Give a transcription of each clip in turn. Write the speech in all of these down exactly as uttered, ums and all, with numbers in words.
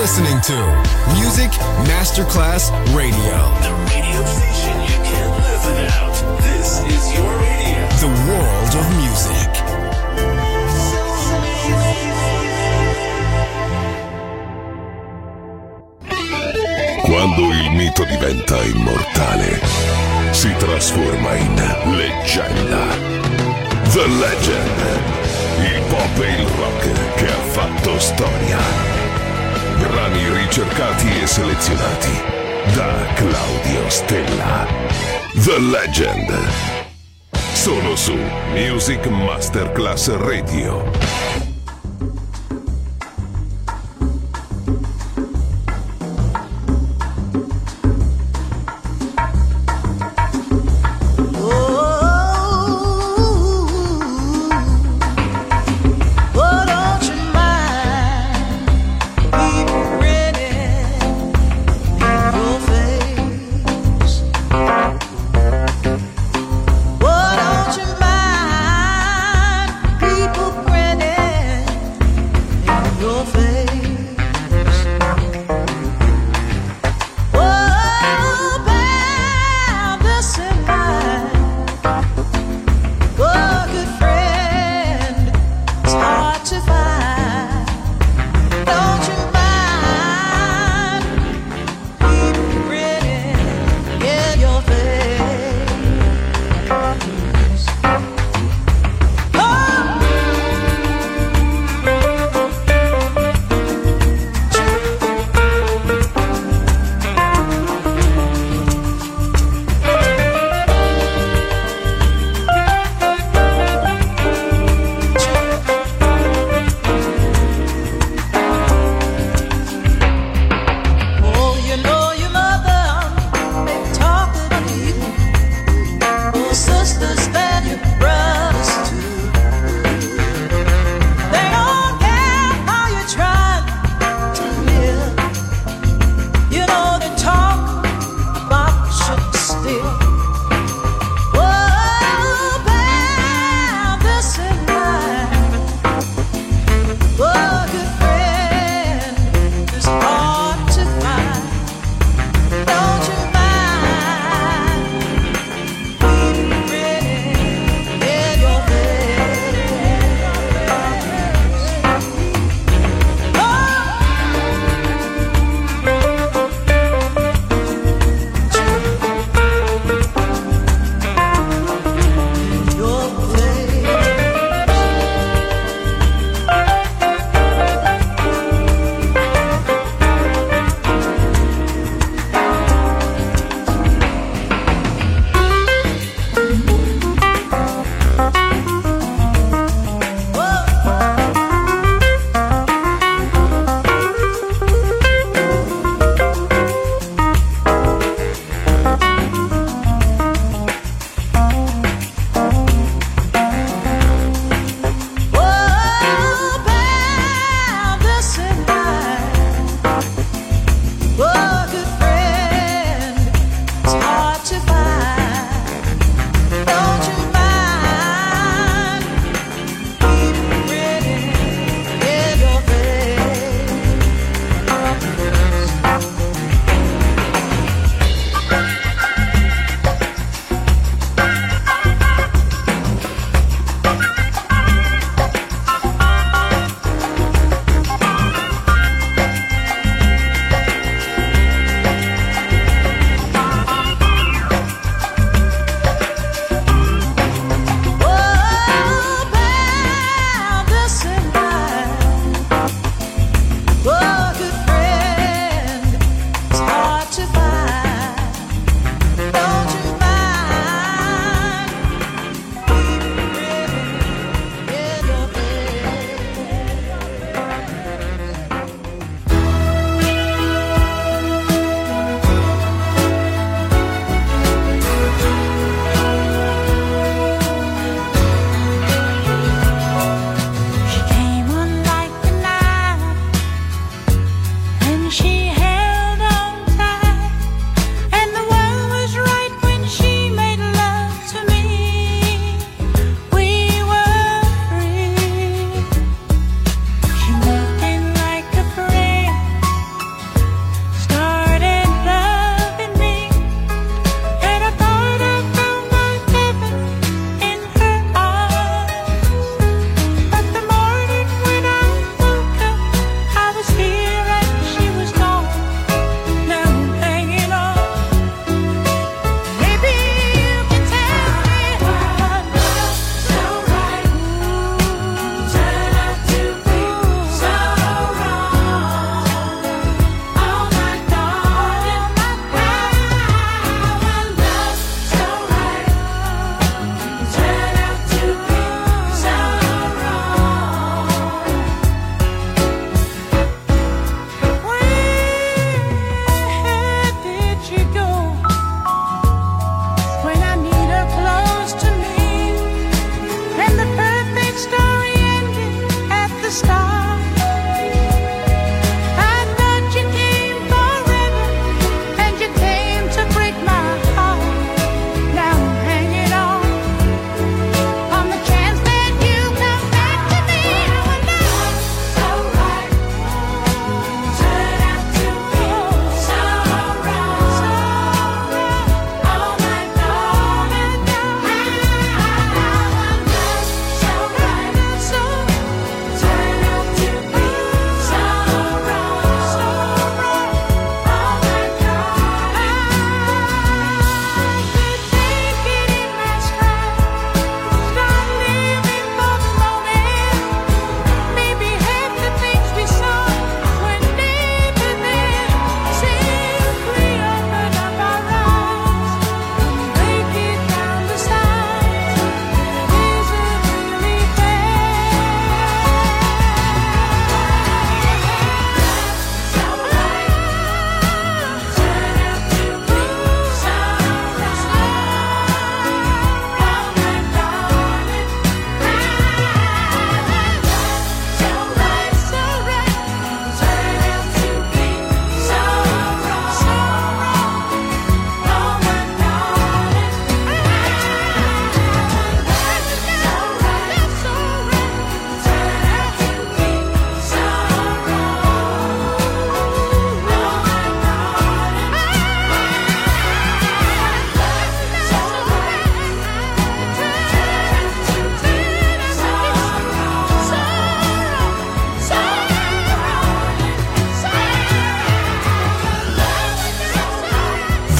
listening to Music Masterclass Radio. The radio station you can't live without. This is your radio. The world of music. Quando il mito diventa immortale, si trasforma in leggenda. The Legend. Il pop e il rock che ha fatto storia. Brani ricercati e selezionati da Claudio Stella. The Legend. Solo su Music Masterclass Radio. People grinning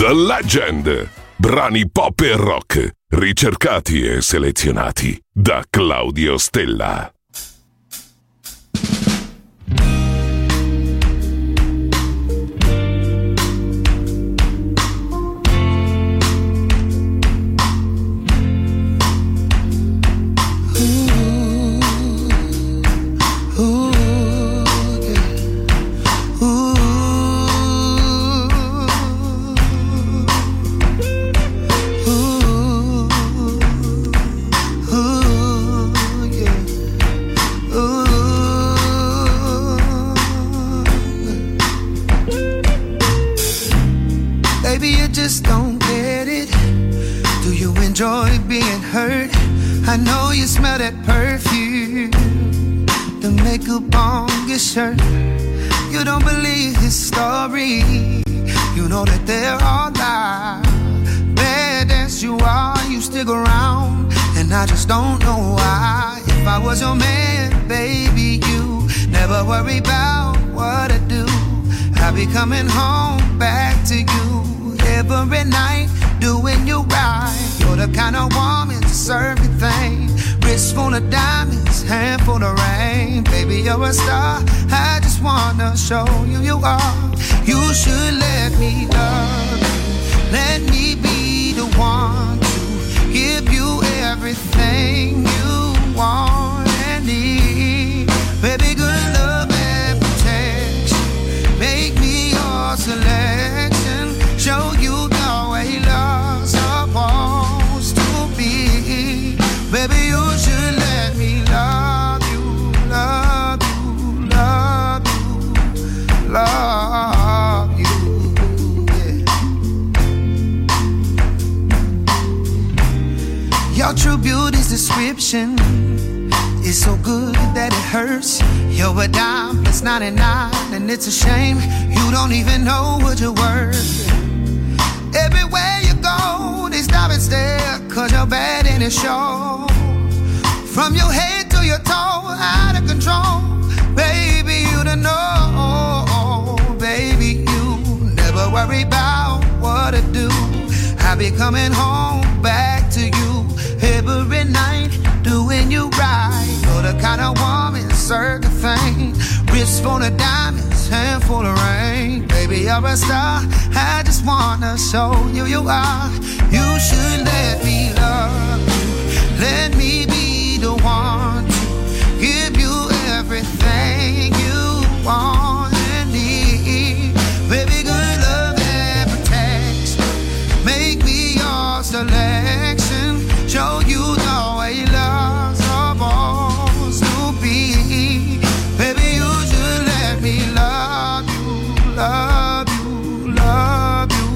The Legend. Brani pop e rock, ricercati e selezionati da Claudio Stella. I know you smell that perfume, the makeup on your shirt. You don't believe his story, you know that they're all lies. Bad as you are, you stick around, and I just don't know why. If I was your man, baby, you never worry about what I do. I'll be coming home back to you every night, doing you right. You're the kind of woman to serve everything. Wrist full of diamonds, hand full of rain. Baby, you're a star, I just wanna show you you are. You should let me love you. Let me be the one to give you everything you want and need. Baby, good love and protection. Make me your selection. Show you the way love's supposed to be. Baby, you should let me love you, love you, love you, love you, yeah. Your true beauty's description is so good that it hurts. You're a dime plus ninety-nine, and it's a shame you don't even know what you're worth. Everywhere you go, they stop and stare, cause you're bad in the show. From your head to your toe, out of control. Baby, you don't know. Baby, you never worry about what to do. I'll be coming home back to you every night, doing you right. You're the kind of woman, certain thing. Wrist full of diamonds, hand full of rain. Baby, you're a star, I just wanna show you you are. You should let me love you. Let me be the one to give you everything you want and need. Baby, good love and protection. Make me your selection. Show you the way love's supposed to be. Baby, you should let me love you, love you, love you.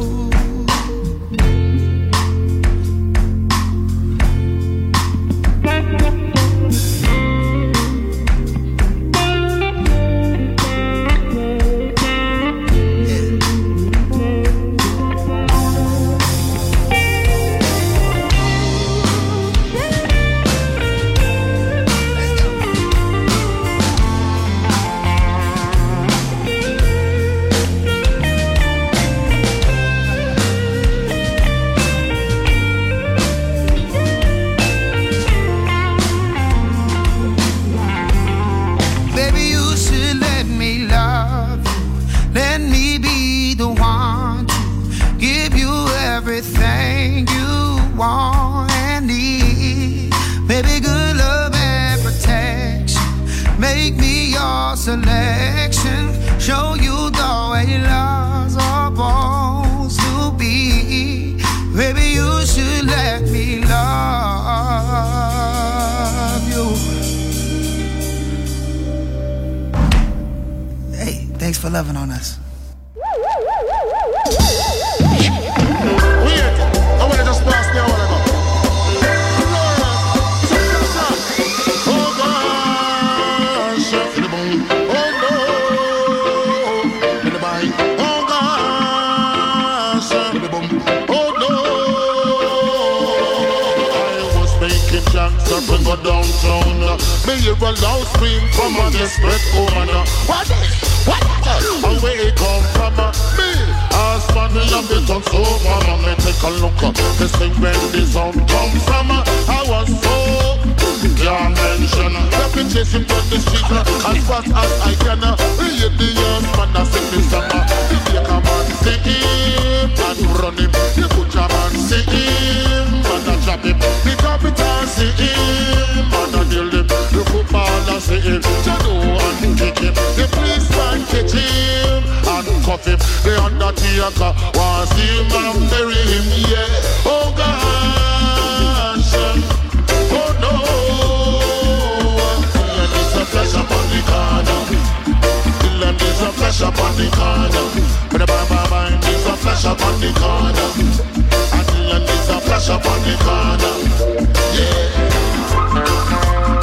Want and need. Baby, good love and protection. Make me your selection. Show you the way love's supposed to be. Baby, you should let me love you. Hey, thanks for loving on us. Pass me a while ago. Oh gosh, in the boom. Oh no, in the bite. Oh gosh, in the boom. Oh no. I was making jacks up and go downtown. Me hear a loud scream from a desperate woman. What? What? And where it come from? Me? last man we have it on sofa. Man, me take a look up. This thing when the sound come from. I was so can't mention. Let me chase him down the street as fast as I can. Hear the young man a sing the song. You take a man see him and run him. You put a man see him and a chop him. The capital see him and a deal him. The footballer see him. Jado and kick him. The policeman catch him and cuff him. The undertaker want see him and bury him. Yeah, oh gosh, oh no. And it's a flash up on the corner. And it's a flash up on the corner. But the bye bye it's a flash up on the corner. And it's a flash up on the corner. Yeah.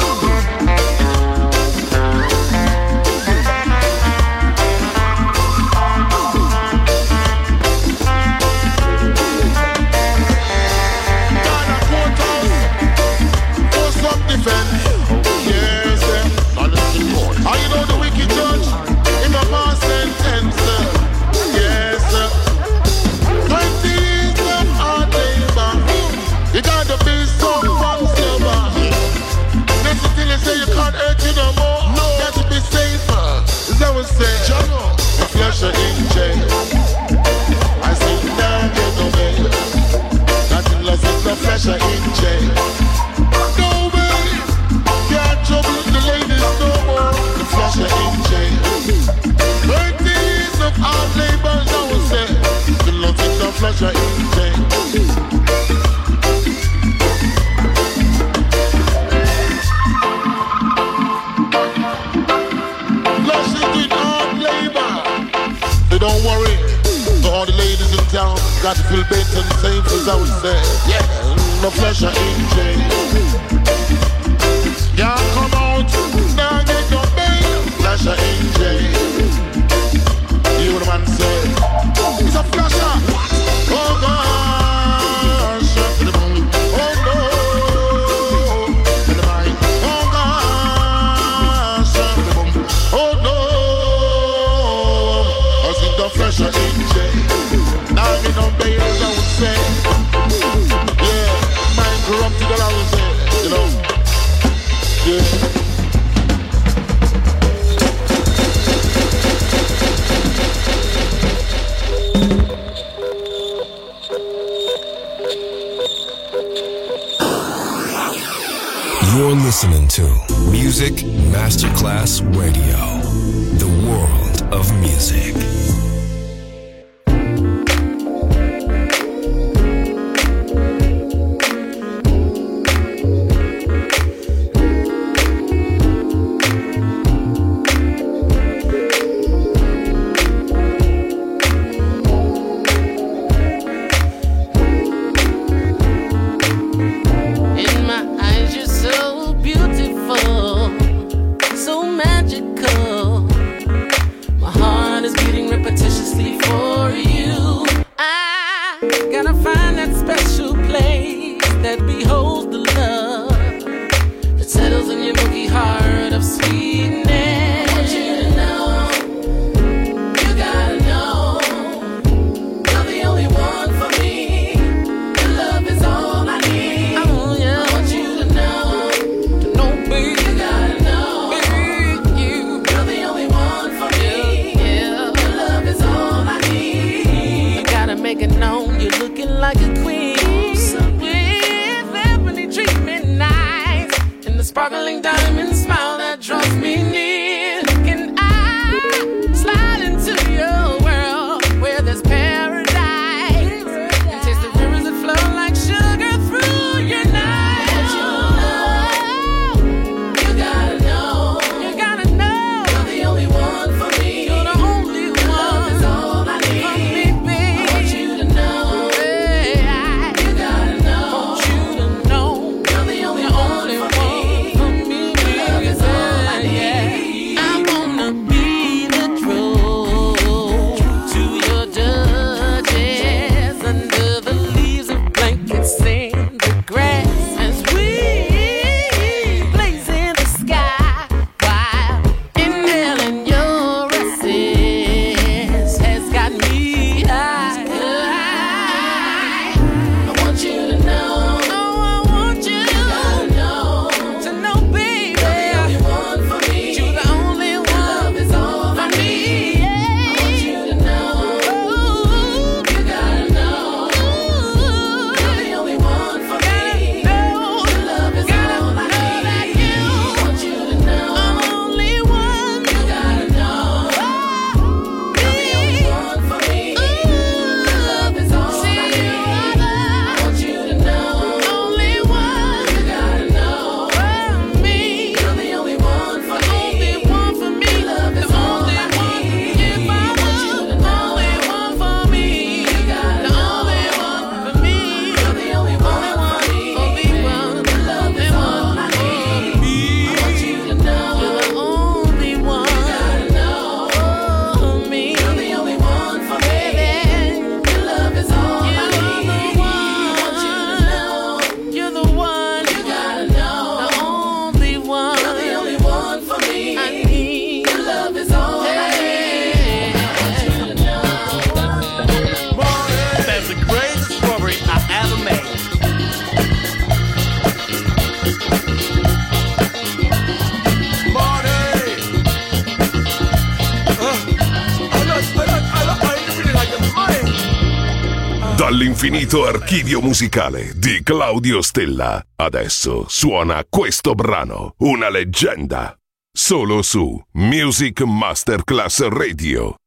Yes, are you know the wicked judge in the past sentence? Yes, twenty years of hard labor. You gotta be so fun silver. Listen till you say you can't hurt you no more. No, got to be safer. Is that what say? The flesh in jail. I say now get no bail. Nothing less than the flesh in jail. Trouble the ladies no more. The flasher in jail. Thirty years of hard labor, I would say. The love in the flasher in jail. Flasher doing hard labor. So don't worry. To all the ladies in town, got to feel better and safe, as I would say. Yeah, the flasher in jail. Yeah, come out, now get your bail. Flasher in jail. You what the man said. It's a flasher. Oh gosh. Oh no. In the mind. Oh gosh. Oh no. I see the flasher in jail. Now get no bail, I would say. Yeah, mind corrupted, I would say. You know. Yeah. You're listening to Music Masterclass Radio, the world of music. Sparkling diamond smile that draws me Dall'infinito archivio musicale di Claudio Stella. Adesso suona questo brano, una leggenda. Solo su Music Masterclass Radio.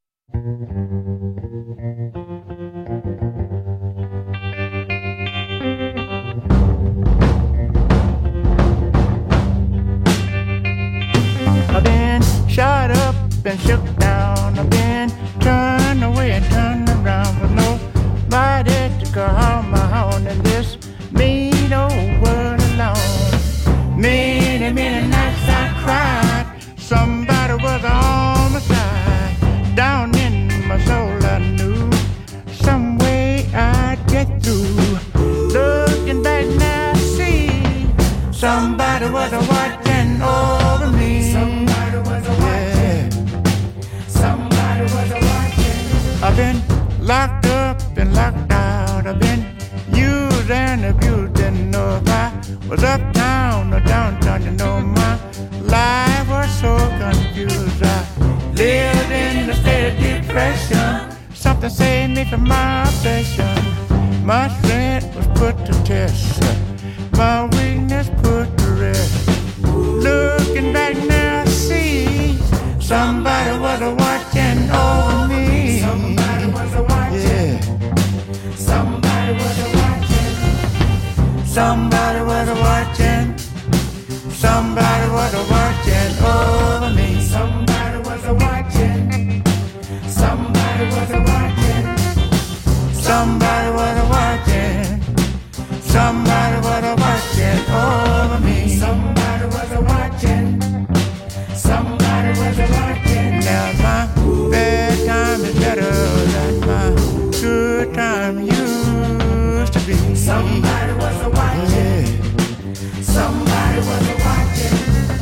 I've been shot up and shook down. I've been turned away and turned around with nobody to call my own in this mean old world alone. Many, many nights I cried. Somebody was on my side. Down in my soul I knew some way I'd get through. Looking back now I see somebody was watching over me. Somebody was watching. Somebody was watching. I've been locked up and locked out. I've been used and abused. Didn't know if I was uptown or downtown. You know my life was so confused. I lived in a state of depression. Something saved me from my obsession. My strength was put to test. My weakness put to rest. Looking back now I see somebody was watching over me. Somebody was watching. Yeah. Somebody was watching. Somebody was watching. Somebody was watching over me. Somebody was watching. Somebody was watching. Somebody was watching. Somebody was watching over me. Somebody was watching. Somebody was watching. Now my bad time is better than my good time used to be. Somebody was watching. Yeah. Somebody was watching.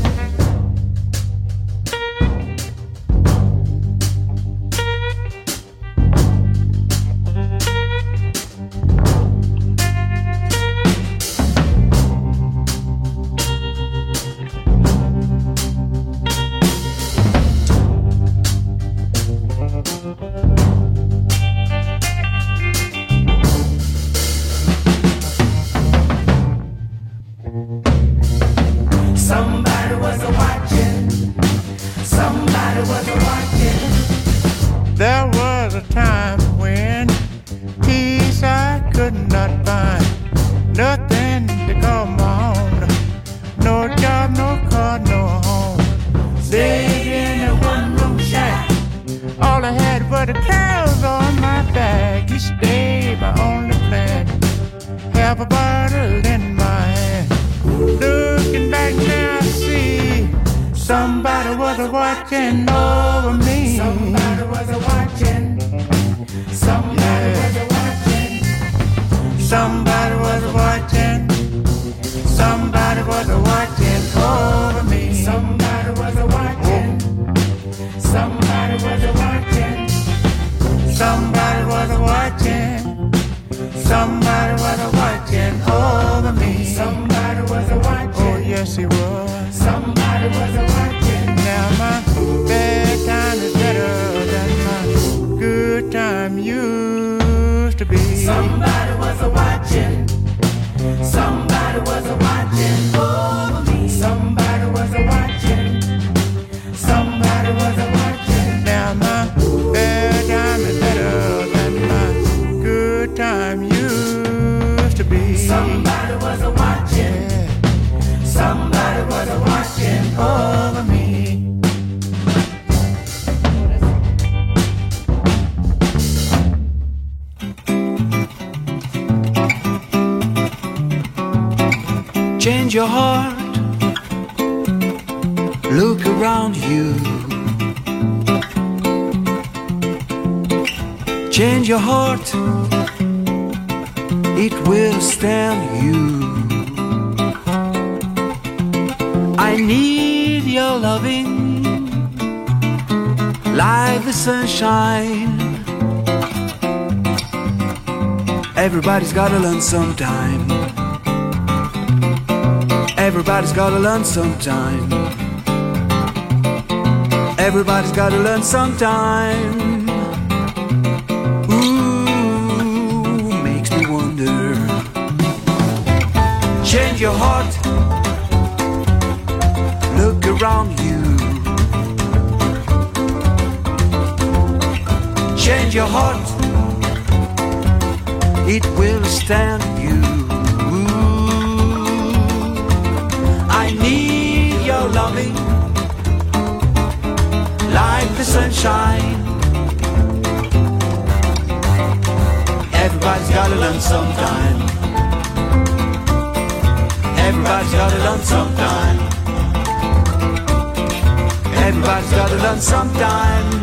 There was a time when peace I could not find. Nothing to call my own. No job, no car, no home. Stayed in a one-room shack. All I had were the clothes on my back. Each day my only plan. Have a bottle in my hand. Looking back now I see somebody was watching over me. Somebody was watching. Somebody yeah. was watching. Somebody was watching. Somebody was watching over me. Somebody was watching. Somebody was watching. Somebody was watching. Somebody was watching over me. Somebody was watching. Oh yes he was. Somebody was watching. Now my bad time is better than my good time used to be. Somebody was watching. Somebody was watching over me. Somebody was watching. Somebody was watching. Now my bad time is better than my good time used to be. Somebody was watching. Yeah. Somebody was watching over me. Change your heart, look around you. Change your heart, it will stand you. I need your loving like the sunshine. Everybody's gotta learn sometime. Everybody's gotta learn sometime. Everybody's gotta learn sometime. Ooh, make your heart. Look around you. Change your heart. It will stand you. I need your loving like the sunshine. Everybody's gotta learn sometime. Everybody's gotta learn sometime. Everybody's gotta learn sometime.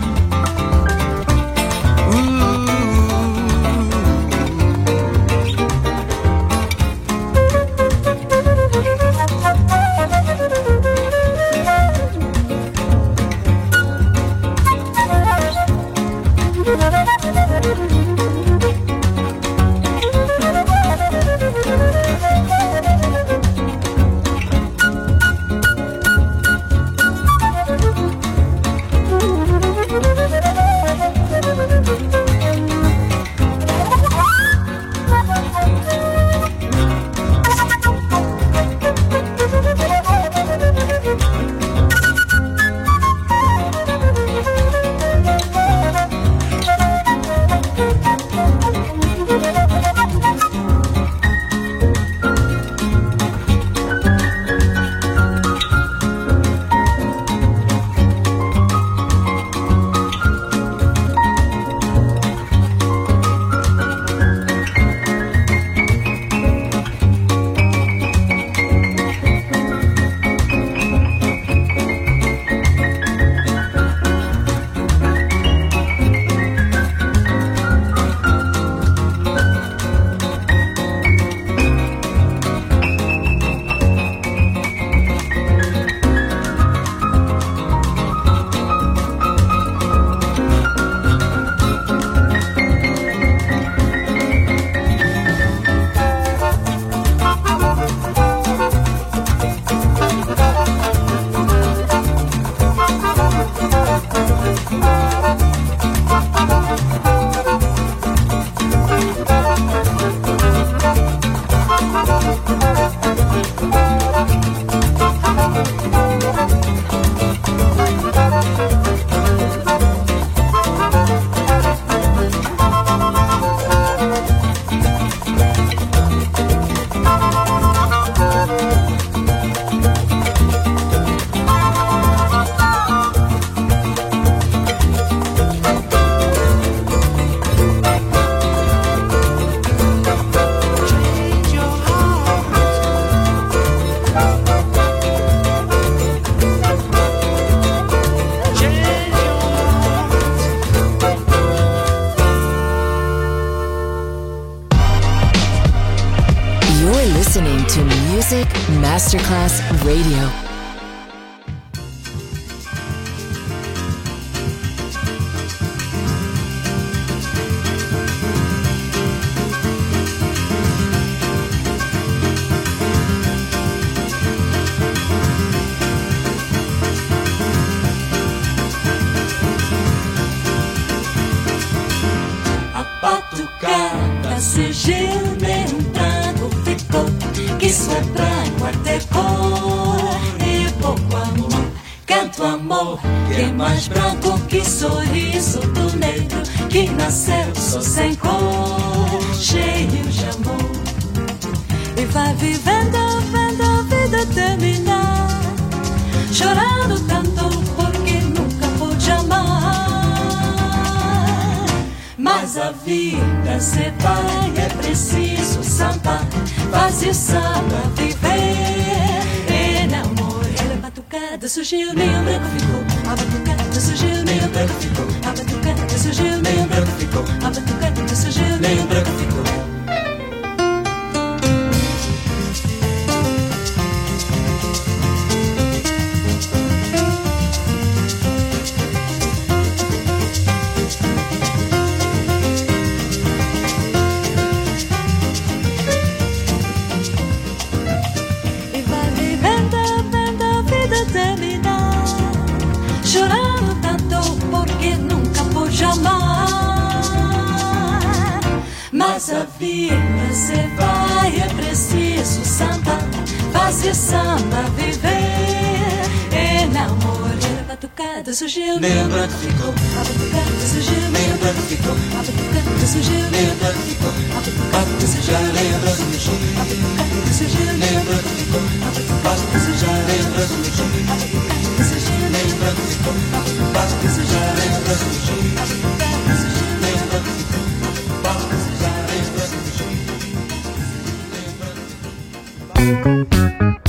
Masterclass Radio. A batucada surgiu, nem um trago ficou, que isso é branco, até cor e pouco amor. Canto amor, que é mais branco que sorriso do negro que nasceu só sem cor, cheio de amor. E vai vivendo, vendo a vida terminar, chorando tanto porque nunca pôde amar. Mas a vida se vai, é preciso sambar, faz o samba viver. E não morrer, a batucada surgiu, nem o branco ficou. A batucada surgiu, nem o branco ficou. A batucada surgiu, nem o branco ficou. A batucada surgiu, nem o branco ficou. Chorando tanto porque nunca pôde amar. Nessa vida cê vai, é preciso samba, fazer samba, viver. Enamorar, batucada surgiu, Lembra que ficou, a batucada surgiu, lembra que ficou, a batucada surgiu, lembra que ficou, a batucada surgiu, lembra que ficou, a batucada surgiu, lembra que ficou, a batucada surgiu, lembra que ficou, a batucada surgiu, lembra que ficou, basta que já lembra que ficou, a batucada surgiu, lembra que ficou, basta que já lembra que ficou, lembra que ficou.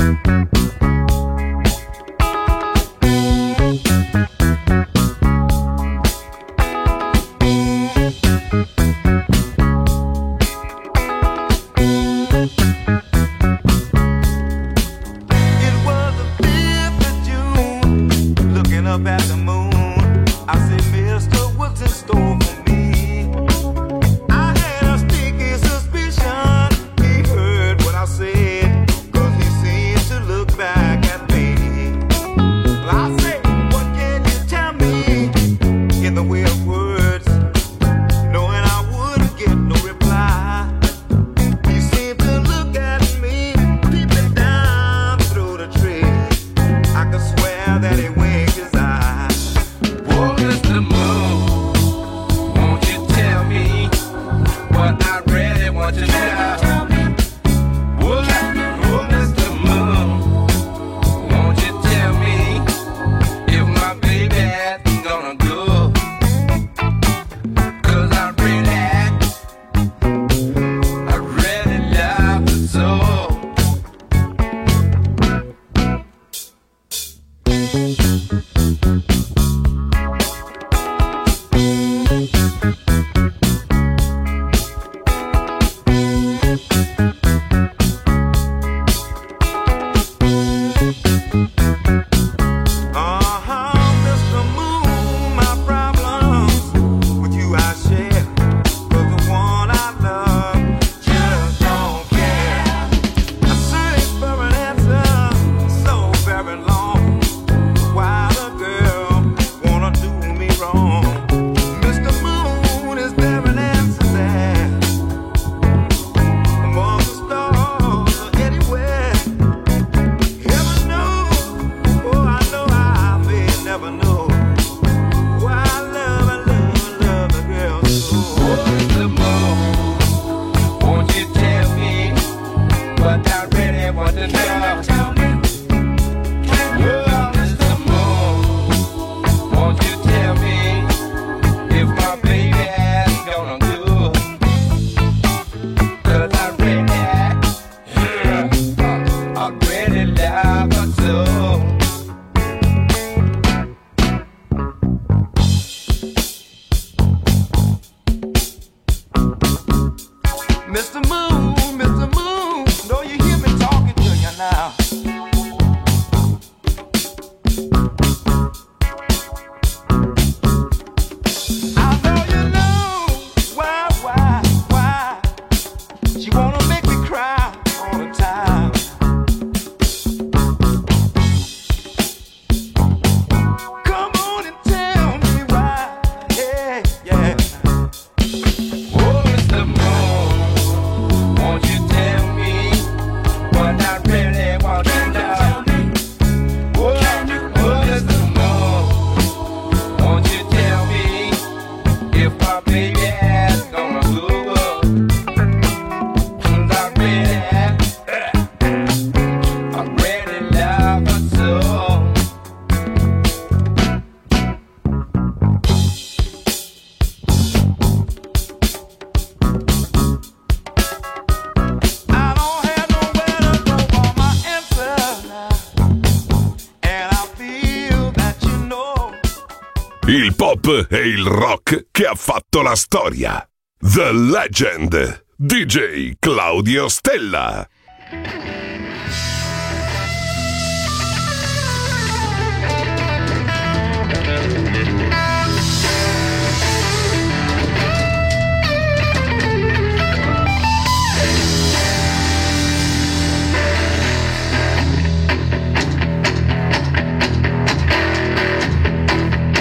Il pop e il rock che ha fatto la storia. The Legend, D J Claudio Stella.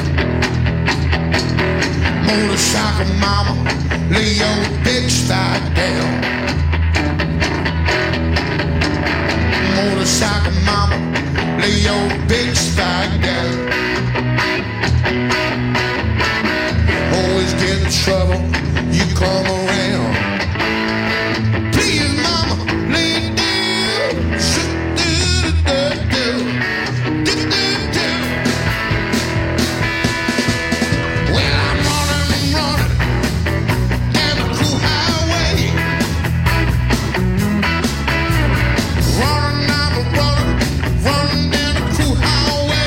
Motorcycle mama, lay your bitch back down. Motorcycle mama, lay your big spike down. Always get in trouble, you come around. Please mama, lay it down. Do-do-do-do-do. Do-do-do. Well, I'm running and running down the cool highway. Running, I'm running, running down the cool highway.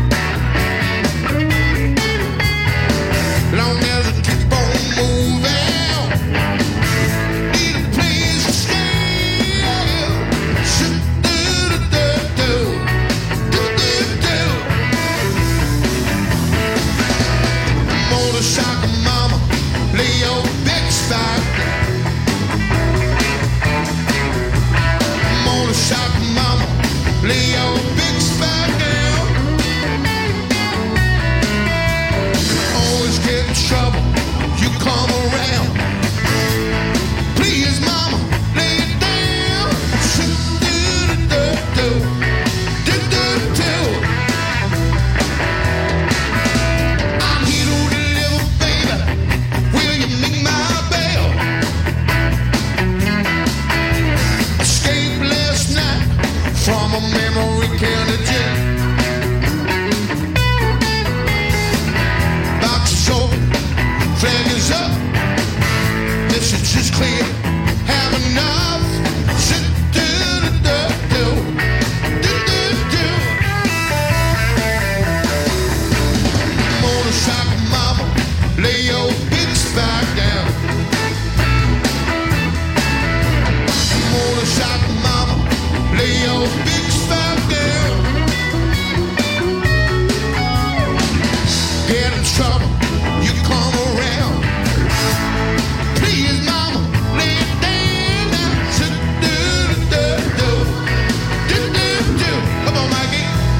Long as I keep on moving, need a place to stay. Do-do-do-do-do. Do-do-do. Motorcycle mama, lay your big spike. Motorcycle mama, lay your big spike down. Always get in trouble, you come around. Please mama, lay it down. Do-do-do-do. Do-do-do. I'm here to deliver, baby. Will you ring my bell? Escaped last night from a memory county jail. Box is open, flag is up. Message is clear. Have enough. Do-do-do-do. Do-do-do. Motorcycle mama, lay your big spike down. Motorcycle mama, lay your big spike down. Get in trouble, you come around. Please mama, lay it down now. Do-do-do-do. Do-do-do. Come on, Mikey.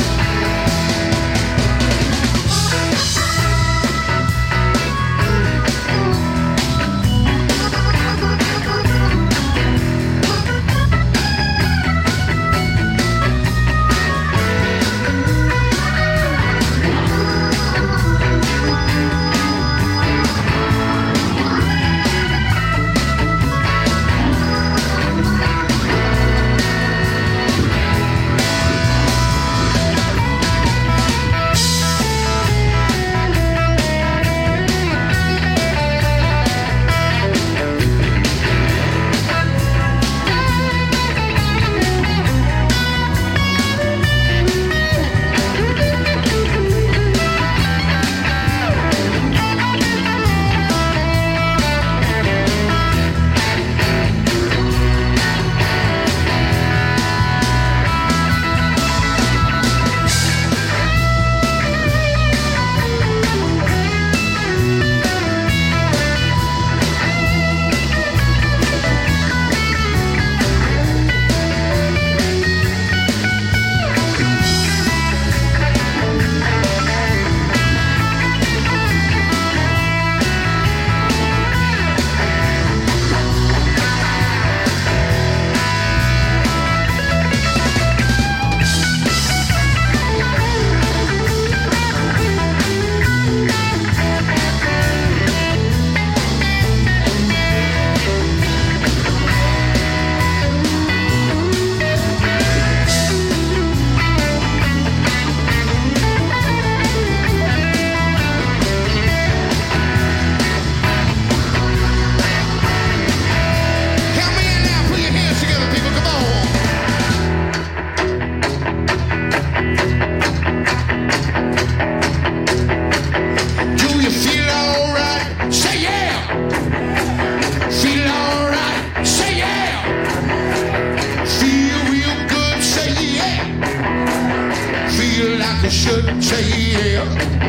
should say yeah.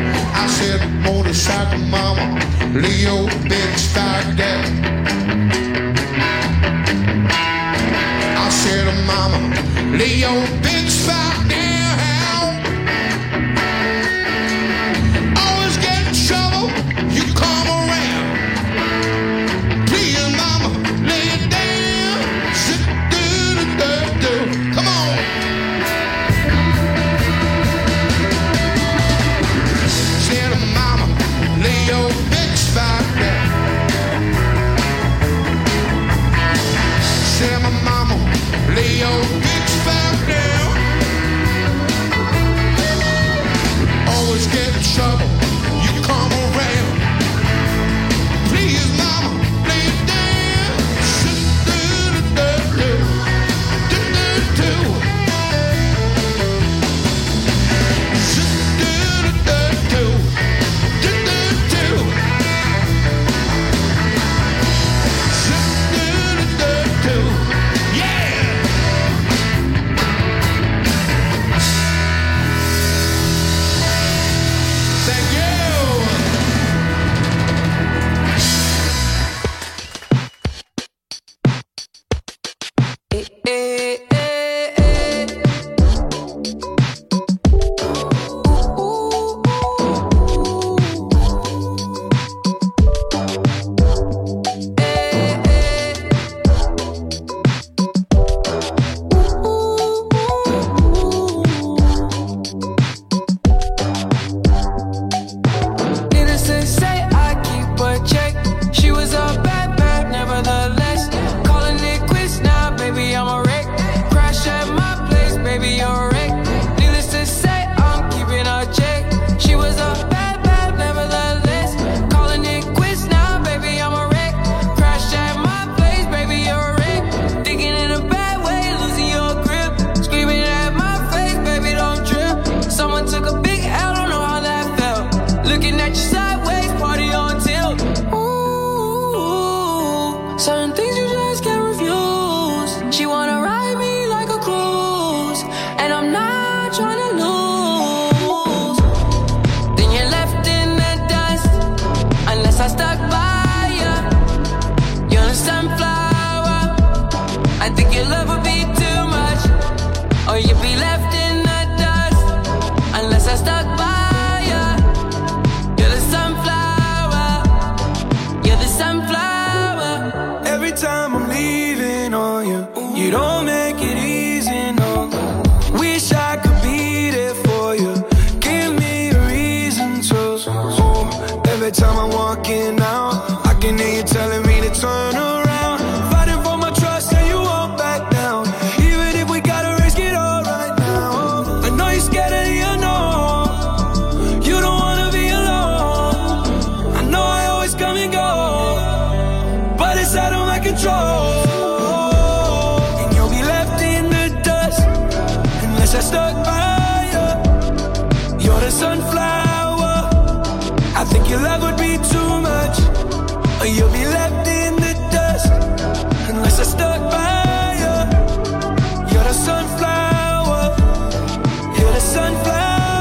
I said, motorcycle mama, Leo, big start down. I said, mama, Leo, big start down. Always get in trouble, you come around. Please, mama, Leo. in trouble, you come around. Please, mama, lay it down. Do-do-do-do-do. Do-do-do. Do-do-do-do. Do-do-do. Do-do-do-do. Yeah! Thank you! Needless to say, I keep a check. She was a bad, bad, nevertheless. Calling it quits now, baby, I'm a wreck. Crash at my place, baby, you're a wreck. Needless to say, I'm keeping a check. She was a bad, bad, nevertheless. Calling it quits now, baby, I'm a wreck. Crash at my place, baby, you're a wreck. Thinking in a bad way, losing your grip. Screaming at my face, baby, don't trip. Someone took a big L, don't know how that felt. Looking at you sideways, party on tilt. Ooh, certain things you just can't refuse. She wanna ride me like a cruise, and I'm not trying to lose. Then you're left in the dust, unless I stuck by you. You're a sunflower. I think your love would be too much, or you'd be left in the dust, unless I stuck by you. You're the sunflower. You're the sunflower. Every time I'm leaving on you, you don't make it easy, no. Wish I could be there for you. Give me a reason to. Oh, every time I'm walking out, I can hear you telling me to turn around. Fighting for my trust and you won't back down. Even if we gotta risk it all right now. I know you're scared of the unknown. You don't wanna be alone. I know I always come and go, but it's out of my control. And you'll be left in the dust unless I stuck by you. You're the sunflower. I think your love would be too much, or you'll be left in the dust unless I stuck by you. You're the sunflower. You're the sunflower.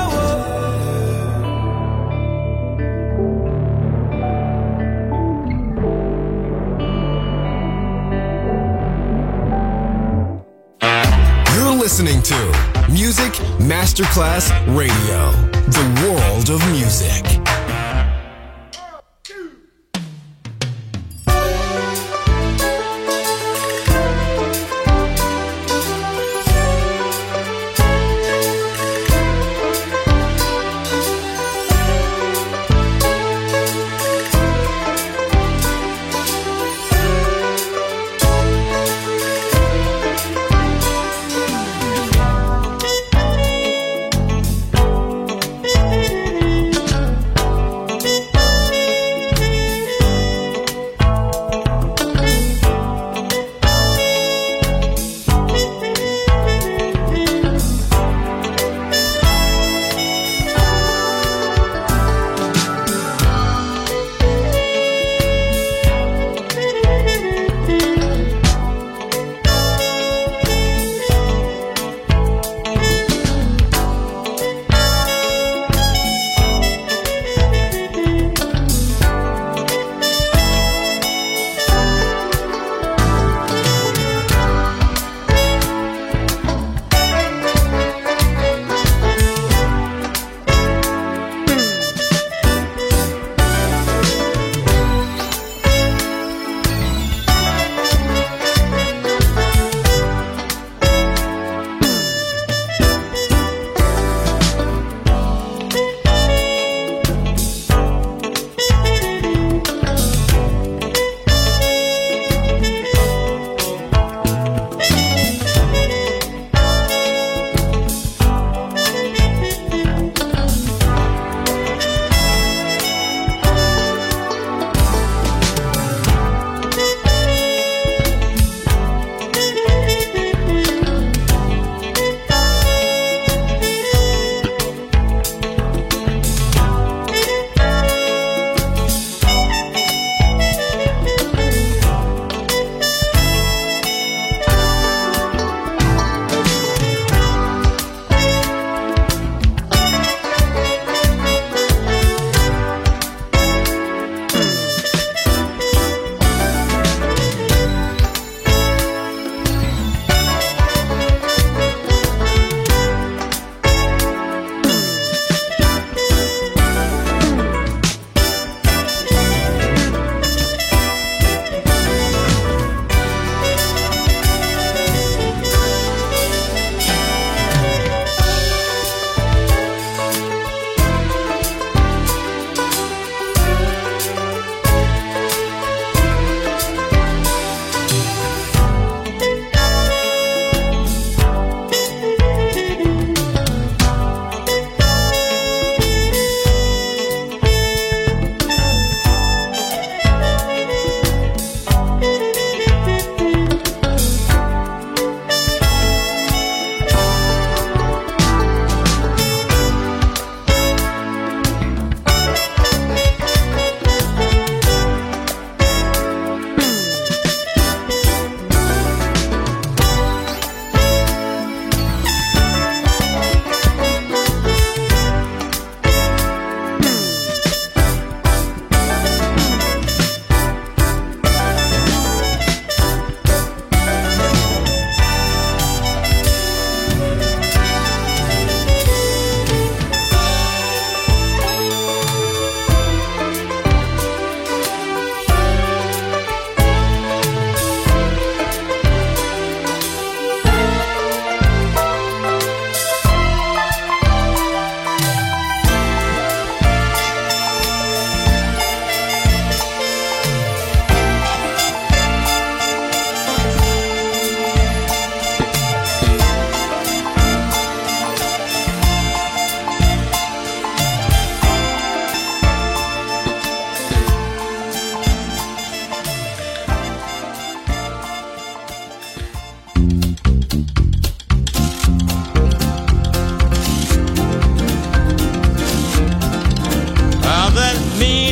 You're listening to Music Masterclass Radio, the world of music.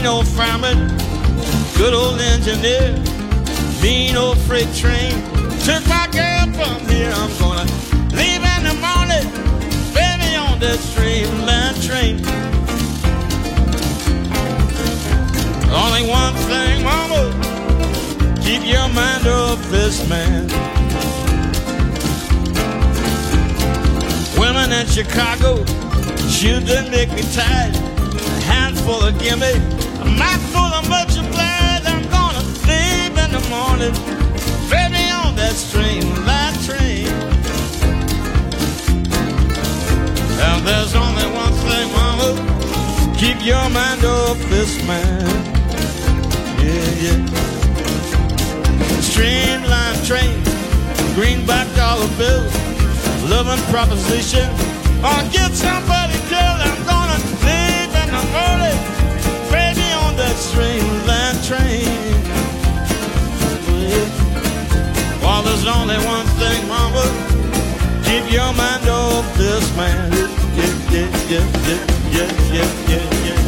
mean old fireman, good old engineer, mean old freight train. Took my girl from here, I'm gonna leave in the morning, baby, on that streamline train. Only one thing, mama, keep your mind off this man. Women in Chicago, shoes that make me tired, a handful of gimme, a mouthful of much obliged. I'm gonna leave in the morning, baby, on that streamline train. And there's only one thing, mama, keep your mind off this man. Yeah, yeah. Streamline train, greenback dollar bill, loving proposition, or get somebody killed. I'm gonna leave in the morning, baby, on that streamline train. Yeah. Well, there's only one thing, mama, keep your mind off this man. Yeah, yeah, yeah, yeah, yeah, yeah, yeah, yeah.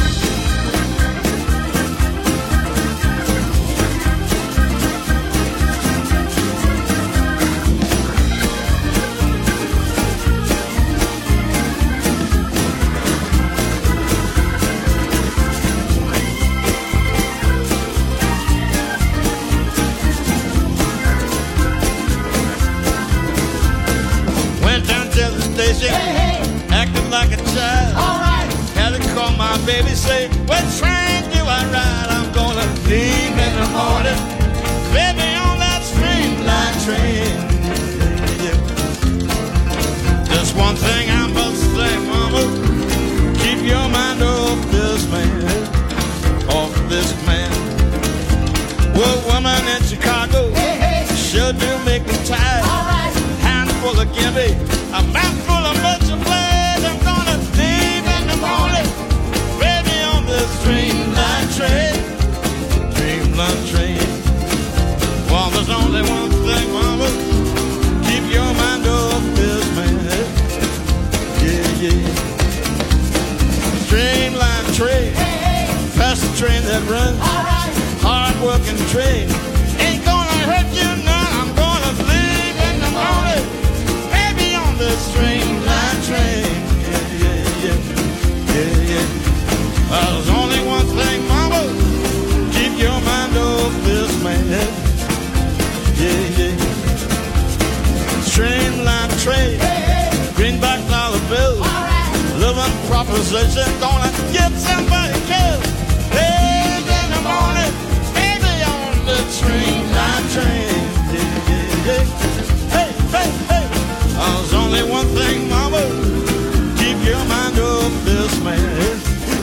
Hey, hey. Acting like a child. All right. Had to call my baby, say, what train do I ride? I'm gonna leave in the morning, baby, on that streamline train. Yeah. Just one thing I must say, mama, keep your mind off this man, off this man. Well, woman in Chicago, hey, hey. Sure do make me tired. All right. Handful of gimme, a mouthful of much obliged. I'm gonna leave in the morning, baby, on this streamline train, streamline train. Well, there's only one thing, mama, keep your mind off this man. Yeah, yeah. Streamline train, hey, hey. Fast train that runs, right. Hard working train, ain't gonna hurt you none. I'm gonna leave in the morning, the streamline train. Yeah, yeah, yeah, yeah, yeah. Well, there's only one thing, mama, keep your mind off this man. Yeah, yeah. Streamline train, hey, hey. Greenback dollar bill, right. Living proposition, gonna get somebody killed. Hey, in the morning, baby, on the streamline train. Yeah, yeah, yeah. Hey, hey, hey. There's only one thing, mama, keep your mind off this man.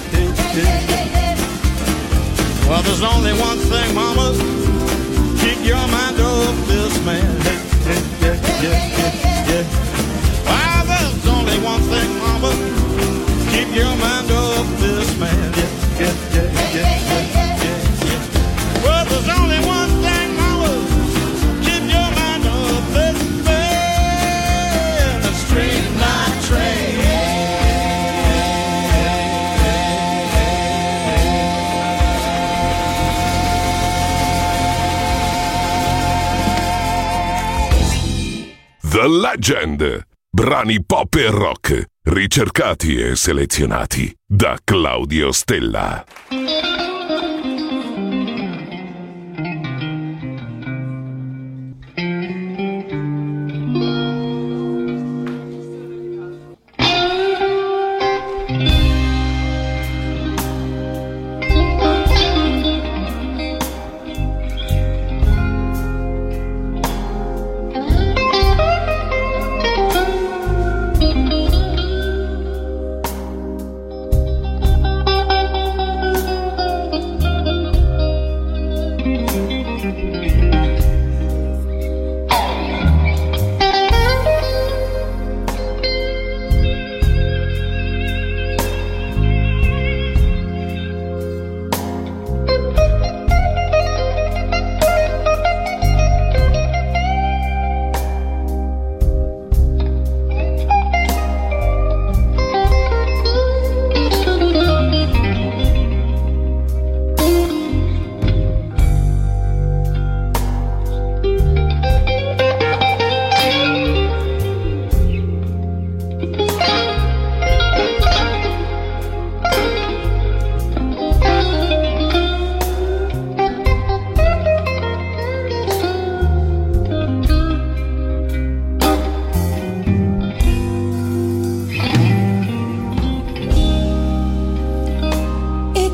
Well, there's only one thing, mama, keep your mind off this man. Well, there's only one thing, mama, keep your mind off this man. Well, there's only one thing, mama, keep your mind off this man. Streamline train. The Legend. Brani pop e rock, ricercati e selezionati da Claudio Stella.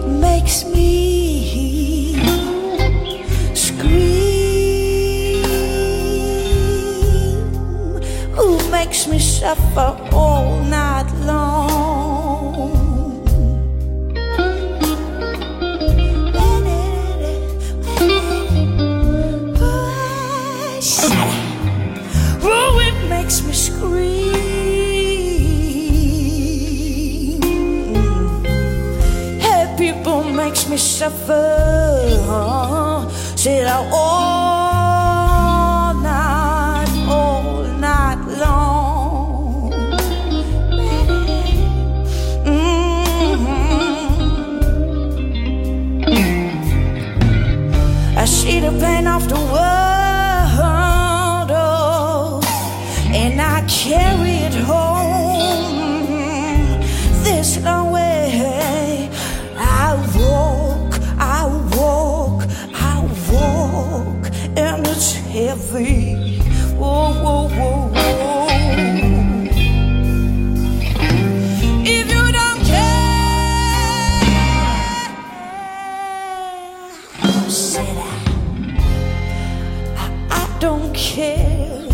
makes me scream? Who makes me suffer all night long? Oh, it makes me scream. Hey, people makes me suffer. Said I all night, all night long. Mm-hmm. I see the pain of the world. And I carry it home this long way. I walk, I walk, I walk, and it's heavy. Whoa, whoa, whoa, whoa. If you don't care, said I, I, I don't care.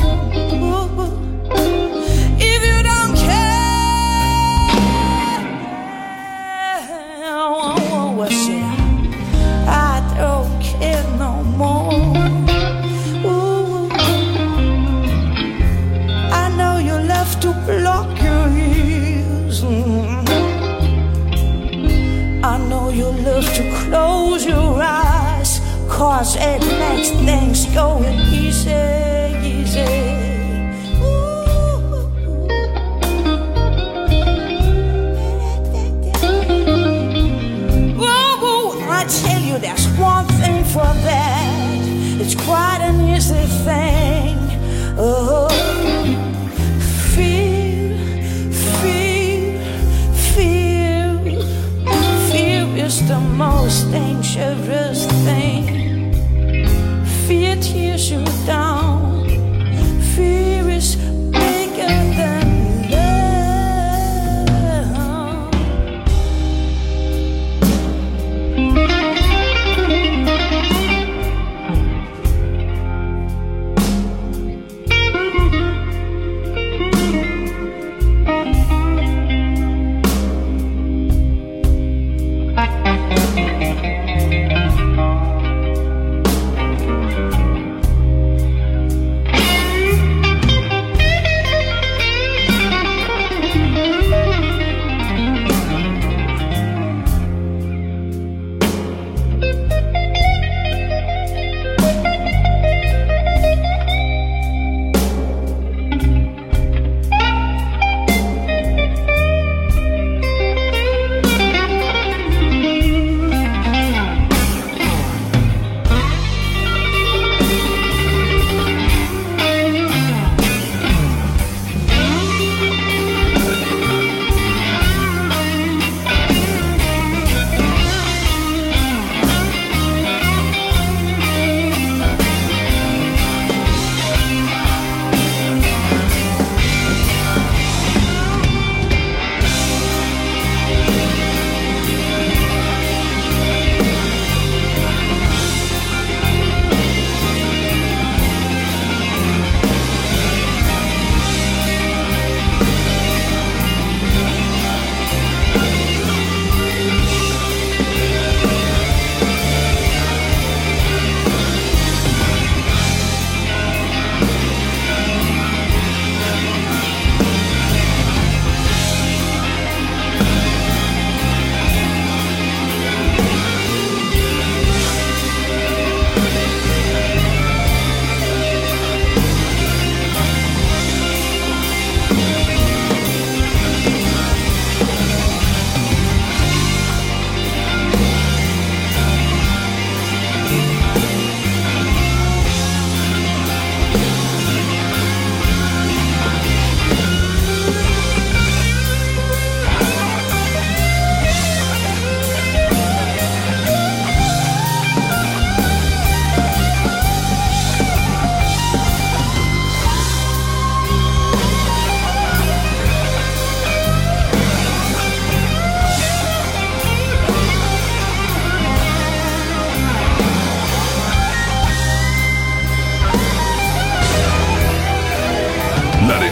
Block your ears. I know you love to close your eyes, 'cause it makes things going easy, easy. Ooh, I tell you, there's one thing for that. It's quite an easy thing. Oh. Is the most dangerous thing. Fear tears you down. Fear is bigger than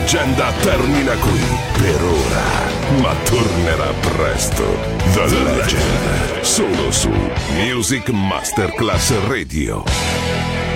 leggenda termina qui per ora, ma tornerà presto. The Legend, solo su Music Masterclass Radio.